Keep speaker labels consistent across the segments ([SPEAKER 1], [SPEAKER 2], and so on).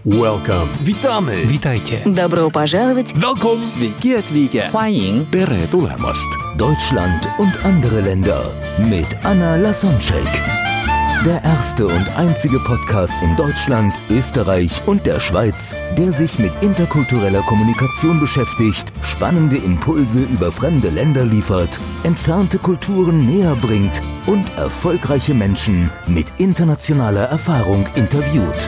[SPEAKER 1] Welcome. Witamy.
[SPEAKER 2] Witajcie.
[SPEAKER 3] Добро пожаловать.
[SPEAKER 1] Welcome. Sveiki atvykę.
[SPEAKER 2] 欢迎
[SPEAKER 1] Tere tulemast.
[SPEAKER 4] Deutschland und andere Länder mit Anna Lasonczek. Der erste und einzige Podcast in Deutschland, Österreich und der Schweiz, der sich mit interkultureller Kommunikation beschäftigt, spannende Impulse über fremde Länder liefert, entfernte Kulturen näher bringt und erfolgreiche Menschen mit internationaler Erfahrung interviewt.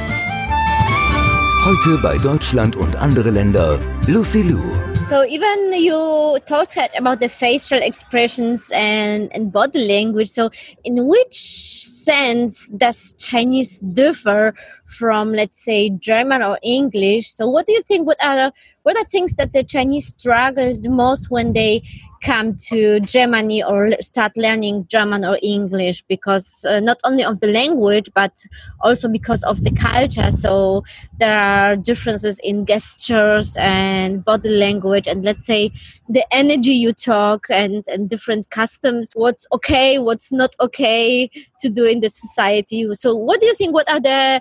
[SPEAKER 4] Heute bei Deutschland und andere Länder, Lucy Liu.
[SPEAKER 5] So even you talked about the facial expressions and body language. So in which sense does Chinese differ from, let's say, German or English? So what do you think? What are things that the Chinese struggle the most when they come to Germany or start learning German or English? Because not only of the language, but also because of the culture. So there are differences in gestures and body language, and let's say the energy you talk and different customs. What's okay, what's not okay to do in the society. So what do you think? What are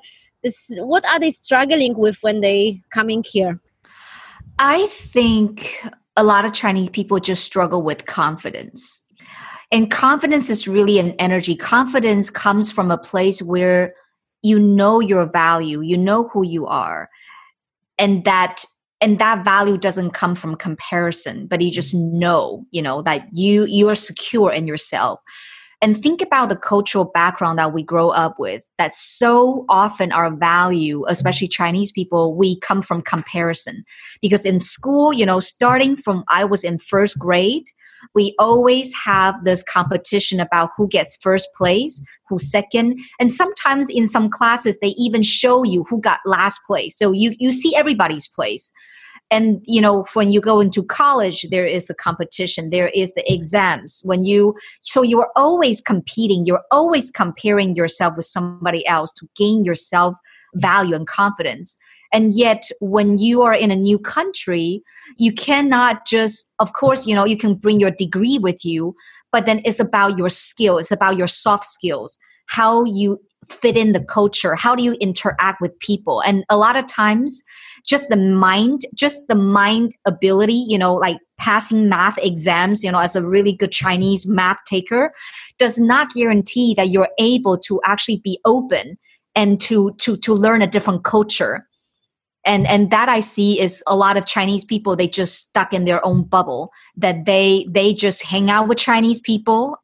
[SPEAKER 5] they struggling with when they coming here?
[SPEAKER 6] I think a lot of Chinese people just struggle with confidence. And confidence is really an energy. Confidence comes from a place where you know your value, you know who you are. And that value doesn't come from comparison, but you just know, that you are secure in yourself. And think about the cultural background that we grow up with, that so often our value, especially Chinese people, we come from comparison. Because in school, starting from I was in first grade, we always have this competition about who gets first place, who's second. And sometimes in some classes, they even show you who got last place. So you see everybody's place. And, when you go into college, there is the competition, there is the exams. So you're always competing, you're always comparing yourself with somebody else to gain your self-value and confidence. And yet, when you are in a new country, you cannot just, of course, you can bring your degree with you, but then it's about your skill, it's about your soft skills, how you fit in the culture, how do you interact with people. And a lot of times, just the mind ability, like passing math exams, as a really good Chinese math taker, does not guarantee that you're able to actually be open and to learn a different culture. And that I see is a lot of Chinese people, they just stuck in their own bubble, that they just hang out with Chinese people.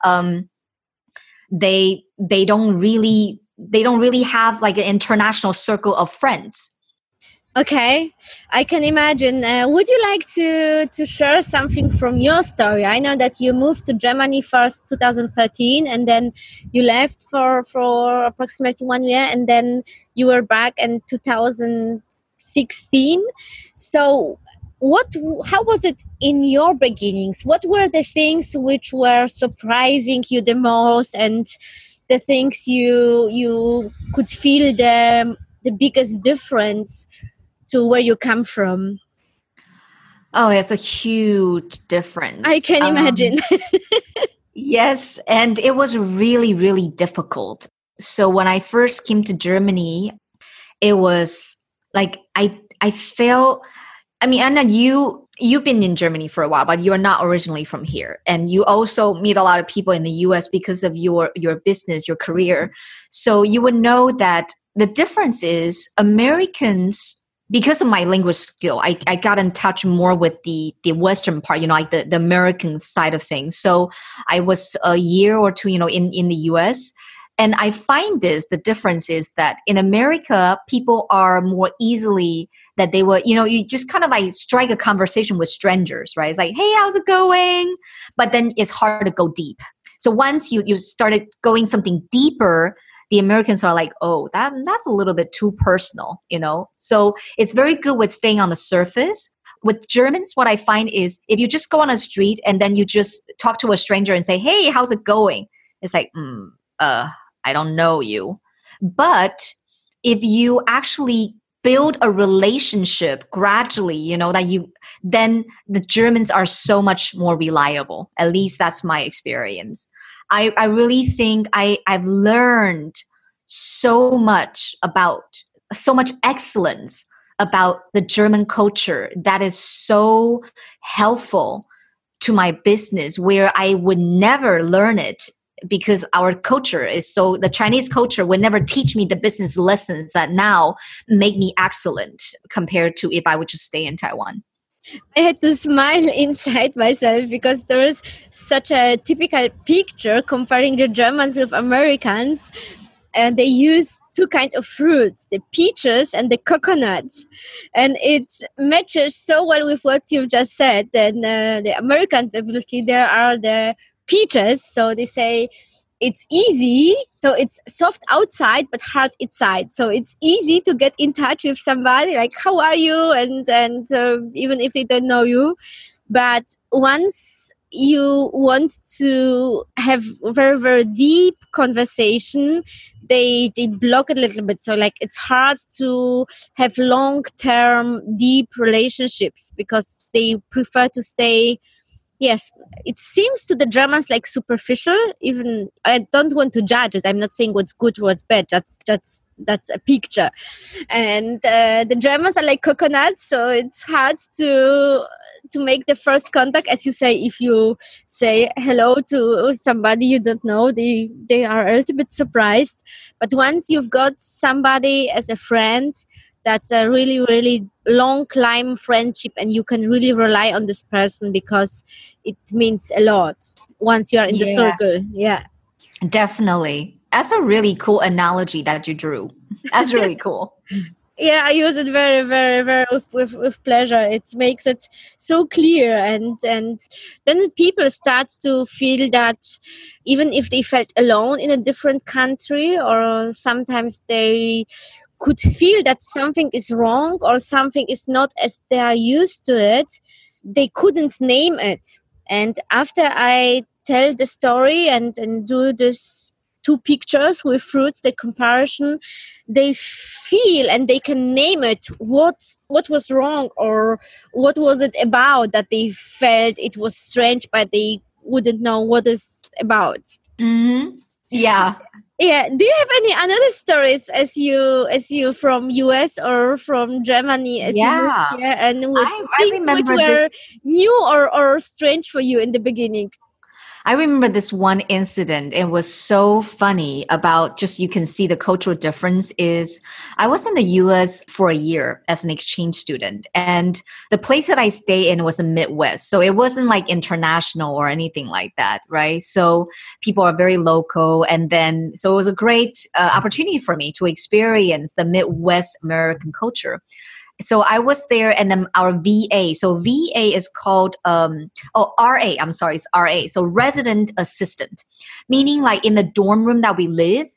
[SPEAKER 6] They don't really have like an international circle of friends.
[SPEAKER 5] Okay, I can imagine. Would you like to share something from your story? I know that you moved to Germany first 2013, and then you left for approximately 1 year, and then you were back in 2016. So how was it in your beginnings? What were the things which were surprising you the most, and the things you could feel the biggest difference to where you come from?
[SPEAKER 6] Oh, it's a huge difference.
[SPEAKER 5] I can imagine.
[SPEAKER 6] Yes, and it was really, really difficult. So when I first came to Germany, it was like I felt, Anna, you've been in Germany for a while, but you're not originally from here. And you also meet a lot of people in the US because of your business, your career. So you would know that the difference is Americans, because of my language skill, I got in touch more with the Western part, like the American side of things. So I was a year or two, in the US. And I find the difference is that in America, people are more easily that they were, you just kind of like strike a conversation with strangers, right? It's like, hey, how's it going? But then it's hard to go deep. So once you started going something deeper, the Americans are like, oh, that's a little bit too personal, So it's very good with staying on the surface. With Germans, what I find is if you just go on a street and then you just talk to a stranger and say, hey, how's it going? It's like, I don't know you. But if you actually build a relationship gradually, then the Germans are so much more reliable. At least that's my experience. I really think I've learned so much about so much excellence about the German culture that is so helpful to my business, where I would never learn it because our culture is so, the Chinese culture would never teach me the business lessons that now make me excellent compared to if I would just stay in Taiwan.
[SPEAKER 5] I had to smile inside myself because there is such a typical picture comparing the Germans with Americans. And they use two kinds of fruits, the peaches and the coconuts. And it matches so well with what you've just said. And the Americans, obviously, there are the peaches. So they say it's easy. So it's soft outside, but hard inside. So it's easy to get in touch with somebody like, how are you? And even if they don't know you. But once you want to have very, very deep conversation, they block it a little bit. So like it's hard to have long-term deep relationships because they prefer to stay, yes, it seems to the Germans like superficial. Even I don't want to judge it. I'm not saying what's good, what's bad. That's a picture. And the Germans are like coconuts, so it's hard to make the first contact. As you say, if you say hello to somebody you don't know, they are a little bit surprised. But once you've got somebody as a friend, that's a really, really long climb friendship, and you can really rely on this person because it means a lot once you are in the circle. Yeah,
[SPEAKER 6] definitely. That's a really cool analogy that you drew. That's really cool.
[SPEAKER 5] Yeah, I use it very, very, very with pleasure. It makes it so clear, and then people start to feel that even if they felt alone in a different country, or sometimes they could feel that something is wrong or something is not as they are used to it, they couldn't name it. And after I tell the story and do this two pictures with fruits, the comparison, they feel and they can name it what was wrong or what was it about that they felt it was strange, but they wouldn't know what it's about.
[SPEAKER 6] Mm-hmm. Yeah.
[SPEAKER 5] Yeah. Do you have any other stories as you from US or from Germany as you moved here, and
[SPEAKER 6] I remember
[SPEAKER 5] which were
[SPEAKER 6] this
[SPEAKER 5] new or strange for you in the beginning?
[SPEAKER 6] I remember this one incident. It was so funny about just, you can see the cultural difference is I was in the US for a year as an exchange student, and the place that I stayed in was the Midwest. So it wasn't like international or anything like that, right? So people are very local. And then, so it was a great opportunity for me to experience the Midwest American culture. So I was there, and then our VA. So VA is called RA. I'm sorry, it's RA. So resident assistant, meaning like in the dorm room that we live,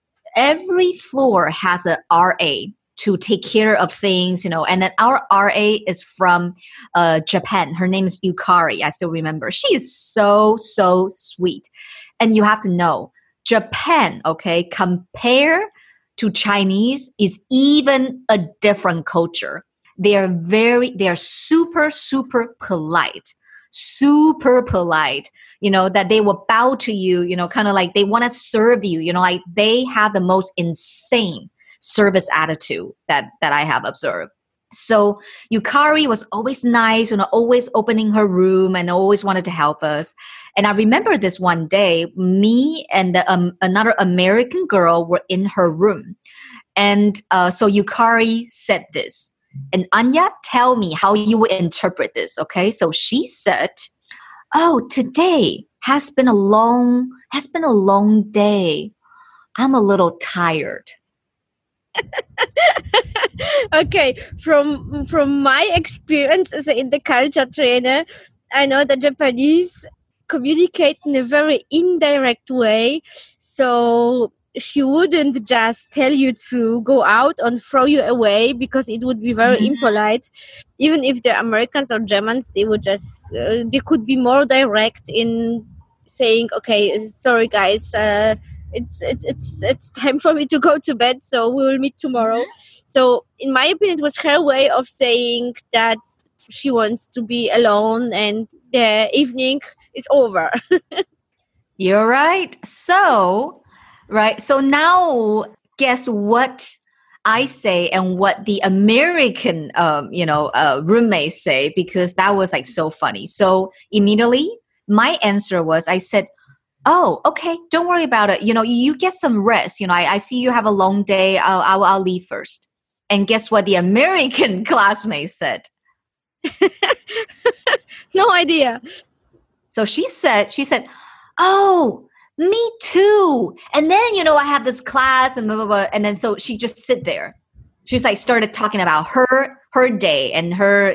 [SPEAKER 6] every floor has a RA to take care of things, And then our RA is from Japan. Her name is Yukari. I still remember. She is so sweet, and you have to know Japan. Okay, compare to Chinese is even a different culture. They are super polite, that they will bow to you, kind of like they want to serve you, like they have the most insane service attitude that I have observed. So Yukari was always nice, always opening her room and always wanted to help us. And I remember this one day, me and another American girl were in her room. And so Yukari said this, and Anya, tell me how you would interpret this, okay? So she said, "Oh, today has been a long day. I'm a little tired."
[SPEAKER 5] Okay, from my experience as in the culture trainer, I know that Japanese communicate in a very indirect way. So she wouldn't just tell you to go out and throw you away because it would be very impolite. Even if they're Americans or Germans, they would just they could be more direct in saying, "Okay, sorry guys, it's time for me to go to bed, so we will meet tomorrow." So in my opinion, it was her way of saying that she wants to be alone and the evening is over.
[SPEAKER 6] You're right. So now guess what I say and what the American, roommates say, because that was like so funny. So immediately my answer was, I said, oh, okay, don't worry about it. You get some rest. I see you have a long day. I'll leave first. And guess what the American classmate said?
[SPEAKER 5] No idea.
[SPEAKER 6] So she said, oh, me too. And then, I have this class and blah, blah, blah. And then so she just sit there. She's like started talking about her day and her,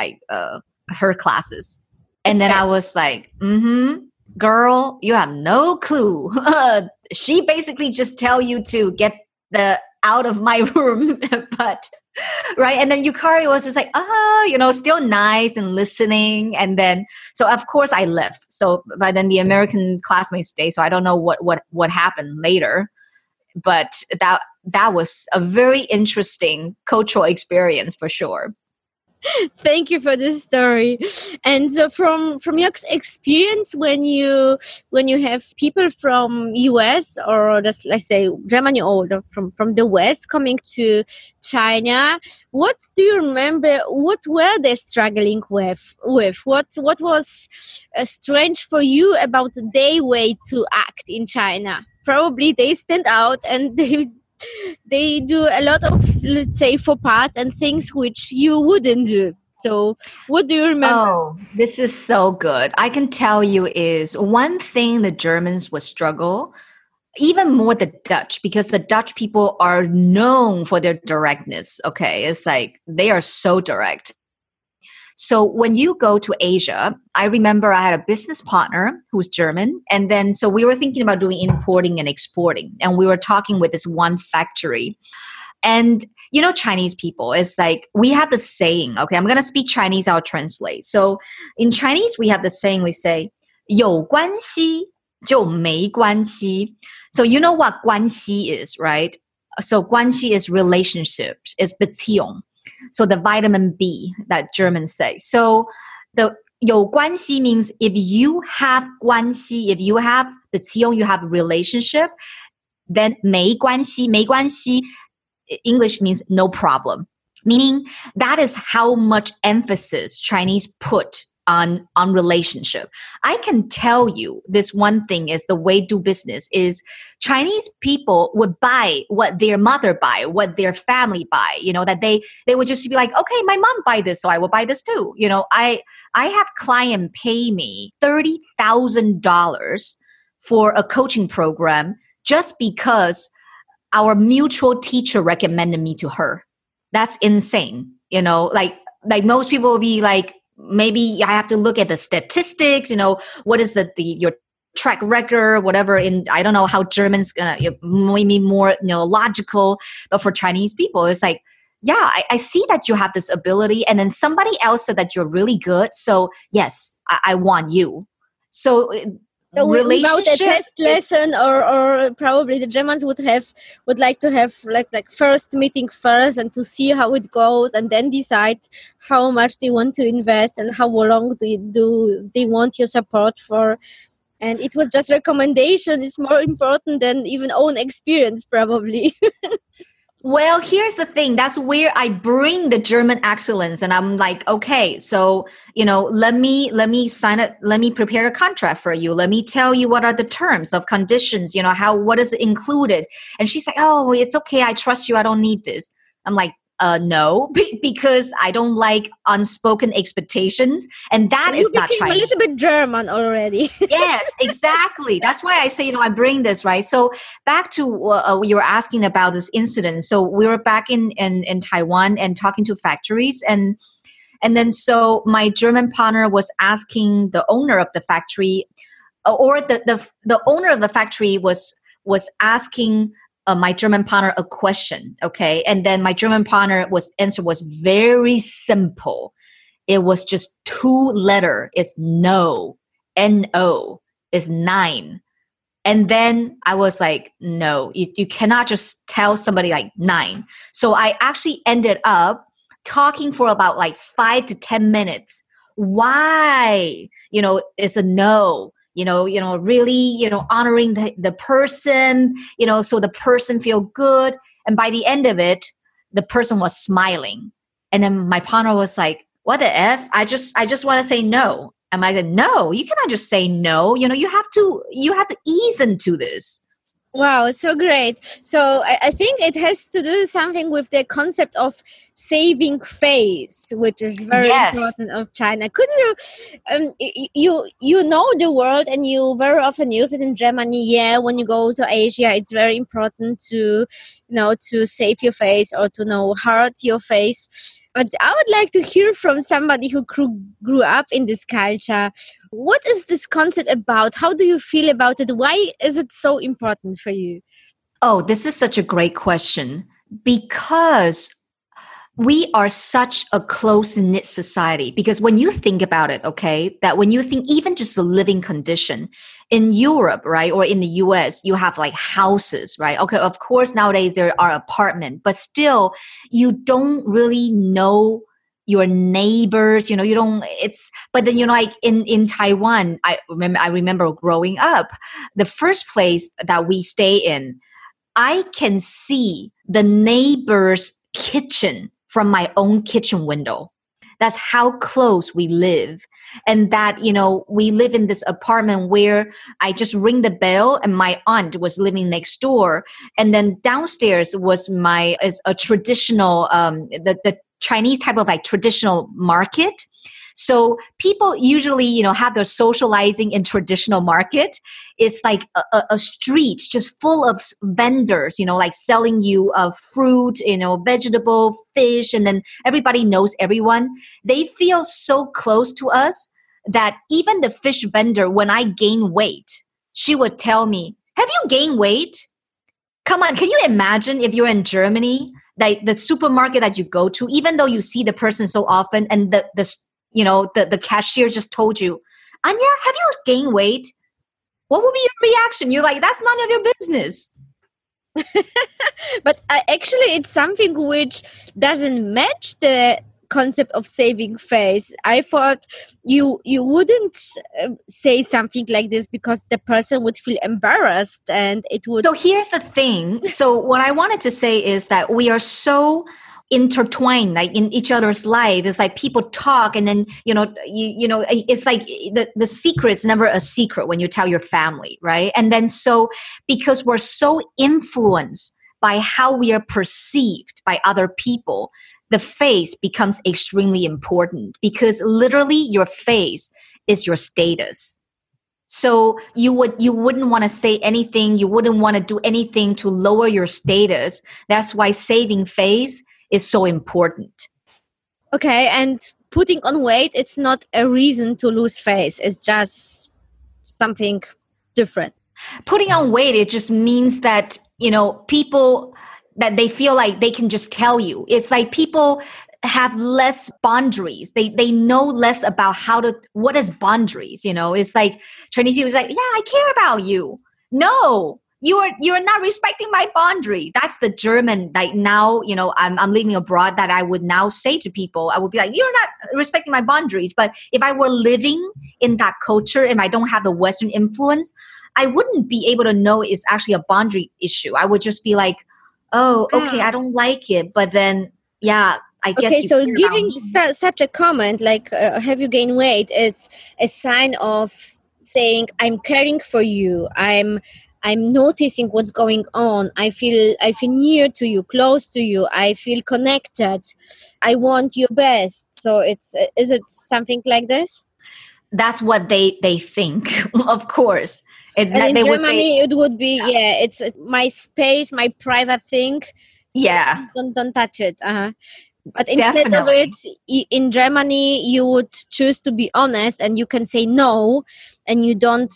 [SPEAKER 6] her classes. And then I was like, girl, you have no clue. She basically just tell you to get out of my room. But right. And then Yukari was just like, still nice and listening. And then, so of course I left. So by then the American classmates stayed. So I don't know what happened later, but that was a very interesting cultural experience for sure.
[SPEAKER 5] Thank you for this story. And so from your experience, when you have people from US or just let's say Germany or from the West coming to China, what do you remember? What were they struggling with? What was strange for you about their way to act in China? Probably they stand out and they do a lot of, let's say, faux pas and things which you wouldn't do. So what do you remember?
[SPEAKER 6] Oh, this is so good. I can tell you is one thing the Germans would struggle, even more the Dutch, because the Dutch people are known for their directness. Okay. It's like they are so direct. So when you go to Asia, I remember I had a business partner who's German. And then, so we were thinking about doing importing and exporting. And we were talking with this one factory. And, Chinese people, it's like, we have the saying, okay, I'm going to speak Chinese, I'll translate. So in Chinese, we have the saying, we say, 有关系就没关系. So you know what 关系 is, right? So 关系 is relationships, is Beziehung. So the vitamin B that Germans say. So the 有关系 means if you have 关系, if you have Beziehung, you have relationship, then 没关系 English means no problem. Meaning that is how much emphasis Chinese put on relationship. I can tell you this one thing is the way do business is Chinese people would buy what their mother buy, what their family buy, that they would just be like, okay, my mom buy this, so I will buy this too. I have client pay me $30,000 for a coaching program just because our mutual teacher recommended me to her. That's insane. Like most people will be like, maybe I have to look at the statistics, what is your track record, whatever. I don't know how Germans maybe more logical, but for Chinese people, it's like, yeah, I see that you have this ability, and then somebody else said that you're really good. So yes, I want you. So
[SPEAKER 5] without a test lesson, or probably the Germans would like to have like first meeting first and to see how it goes, and then decide how much they want to invest and how long they want your support for. And it was just recommendation. It's more important than even own experience, probably.
[SPEAKER 6] Well, here's the thing. That's where I bring the German excellence, and I'm like, okay, so let me sign it. Let me prepare a contract for you. Let me tell you what are the terms of conditions. What is included? And she's like, oh, it's okay. I trust you. I don't need this. I'm like, no, because I don't like unspoken expectations, and that is not Chinese.
[SPEAKER 5] A little bit German already.
[SPEAKER 6] Yes, exactly. That's why I say, I bring this, right? So back to you were asking about this incident. So we were back in Taiwan and talking to factories, and then so my German partner was asking the owner of the factory, or the owner of the factory was asking my German partner a question, okay? And then my German partner answer was very simple. It was just 2 letter. It's no, N-O, is 9. And then I was like, no, you cannot just tell somebody like 9. So I actually ended up talking for about like 5 to 10 minutes. Why? It's a no. Really, honoring the person, so the person feel good. And by the end of it, the person was smiling. And then my partner was like, what the F? I just want to say no. And I said, no, you cannot just say no. You have to ease into this.
[SPEAKER 5] Wow, so great. So I think it has to do something with the concept of saving face, which is very important of China. Could you know the word and you very often use it in Germany? Yeah, when you go to Asia, it's very important to save your face or to hurt your face. But I would like to hear from somebody who grew up in this culture. What is this concept about? How do you feel about it? Why is it so important for you?
[SPEAKER 6] Oh, this is such a great question. Because we are such a close-knit society. Because when you think about it, okay, that when you think even just the living condition in Europe, right, or in the US, you have like houses, right? Okay, of course, nowadays there are apartments, but still you don't really know your neighbors, you don't, but then, like in Taiwan, I remember growing up, the first place that we stay in, I can see the neighbor's kitchen from my own kitchen window. That's how close we live. And that, we live in this apartment where I just ring the bell and my aunt was living next door. And then downstairs was a traditional, the Chinese type of like traditional market. So people usually, have their socializing in traditional market. It's like a street just full of vendors, like selling you fruit, vegetable, fish, and then everybody knows everyone. They feel so close to us that even the fish vendor, when I gain weight, she would tell me, have you gained weight? Come on, can you imagine if you're in Germany, like the supermarket that you go to, even though you see the person so often and the cashier just told you, Anya, have you gained weight? What would be your reaction? You're like, that's none of your business.
[SPEAKER 5] But actually, it's something which doesn't match the concept of saving face. I thought you wouldn't say something like this because the person would feel embarrassed and it would...
[SPEAKER 6] So here's the thing. So what I wanted to say is that we are so intertwined like in each other's life. It's like people talk and then it's like the secret's never a secret when you tell your family, right? And then so because we're so influenced by how we are perceived by other people, the face becomes extremely important because literally your face is your status. So you wouldn't want to say anything, you wouldn't want to do anything to lower your status. That's why saving face is so important.
[SPEAKER 5] Okay, and putting on weight, it's not a reason to lose face. It's just something different.
[SPEAKER 6] Putting on weight, it just means that, people that they feel like they can just tell you. It's like people have less boundaries. They know less about what is boundaries, It's like Chinese people is like, yeah, I care about you. No. You're not respecting my boundary. That's the German, like now, I'm living abroad that I would now say to people, I would be like, you're not respecting my boundaries. But if I were living in that culture and I don't have the Western influence, I wouldn't be able to know it's actually a boundary issue. I would just be like, oh, okay, I don't like it. But then, yeah, I guess.
[SPEAKER 5] Okay, so giving such a comment, like, have you gained weight, is a sign of saying, I'm caring for you. I'm noticing what's going on. I feel near to you, close to you. I feel connected. I want your best. So is it something like this?
[SPEAKER 6] That's what they think, of course.
[SPEAKER 5] And in Germany, it would be, it's my space, my private thing. So
[SPEAKER 6] yeah.
[SPEAKER 5] Don't touch it. But instead of it, in Germany, you would choose to be honest and you can say no. And you don't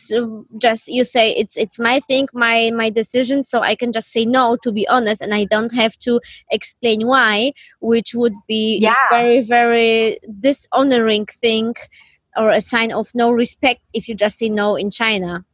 [SPEAKER 5] you say it's my thing, my decision, so I can just say no, to be honest, and I don't have to explain why, which would be a very, very dishonoring thing or a sign of no respect if you just say no in China.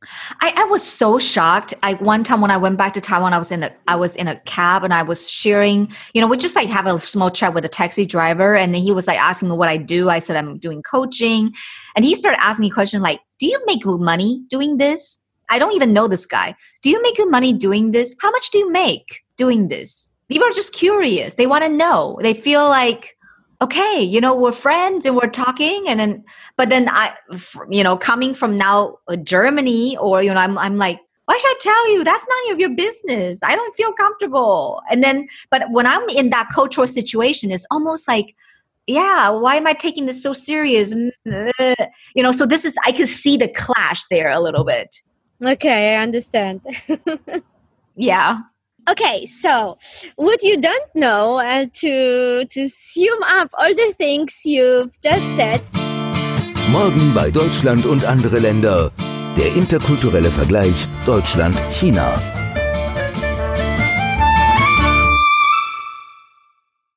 [SPEAKER 6] I was so shocked. One time when I went back to Taiwan, I was in a cab and I was sharing, we just like have a small chat with a taxi driver. And then he was like asking me what I do. I said, I'm doing coaching. And he started asking me questions like, do you make money doing this? I don't even know this guy. Do you make good money doing this? How much do you make? doing this? People are just curious. They want to know. They feel like, okay, we're friends and we're talking. But then coming from now Germany, or, I'm like, why should I tell you? That's none of your business. I don't feel comfortable. But when I'm in that cultural situation, it's almost like, yeah, why am I taking this so serious? So I can see the clash there a little bit.
[SPEAKER 5] Okay, I understand.
[SPEAKER 6] Yeah.
[SPEAKER 5] Okay, so what you don't know, to sum up all the things you've just said.
[SPEAKER 4] Morgen bei Deutschland und andere Länder. Der interkulturelle Vergleich Deutschland-China.